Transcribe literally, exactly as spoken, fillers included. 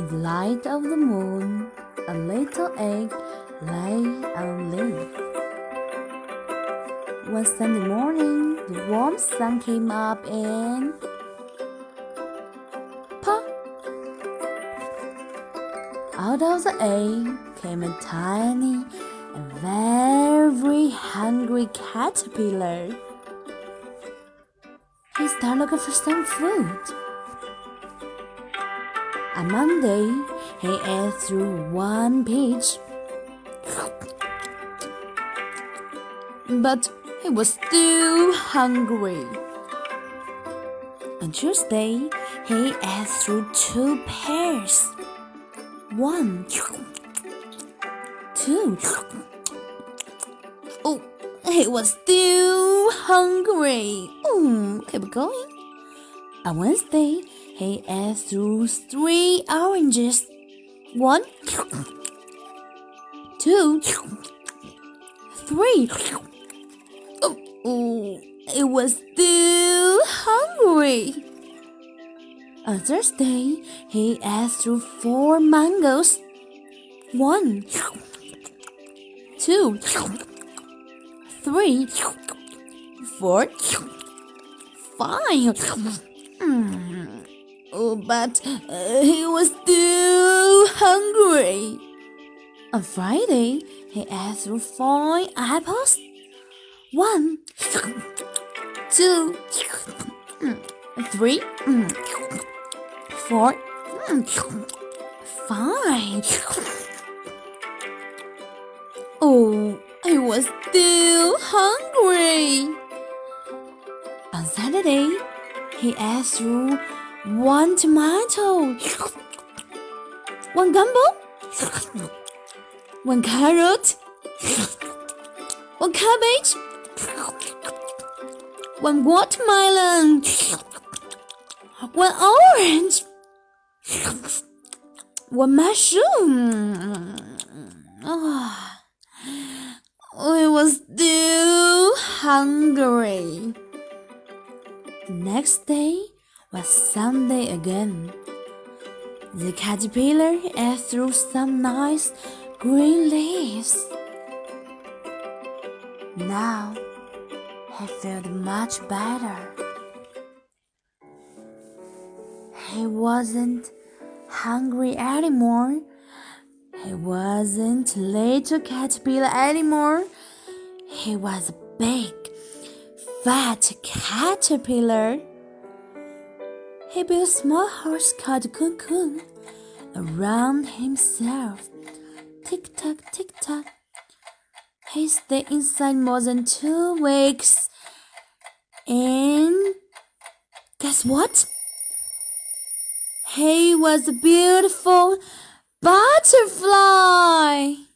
the light of the moon, a little egg lay on a leaf. One Sunday morning, the warm sun came up and pop! Out of the egg came a tiny and very hungry caterpillar. He started looking for some food. On Monday, he ate through one peach. But he was still hungry. On Tuesday, he ate through two pears. One, two. Oh, he was still hungry. Oh, keep going. On Wednesday, he ate through three oranges. One, two, three. Oh, oh, he was still hungry. On Thursday, he ate through four mangoes. One, two, three, four, five. Mm. Oh, but uh, he was still hungry. On Friday, he ate through five apples. One, two, three, four, five. Oh, he was still hungry. On Saturday, he ate through one tomato, one gumbo, one carrot, one cabbage, one watermelon, one orange, one mushroom. Oh, he was still hungry. The next day was Sunday again. The caterpillar ate through some nice green leaves. Now he felt much better. He wasn't hungry anymore. He wasn't a little caterpillar anymore. He was a big, fat caterpillar. He built a small house called a cocoon around himself. Tick-tock, tick-tock. He stayed inside more than two weeks. And guess what? He was a beautiful butterfly.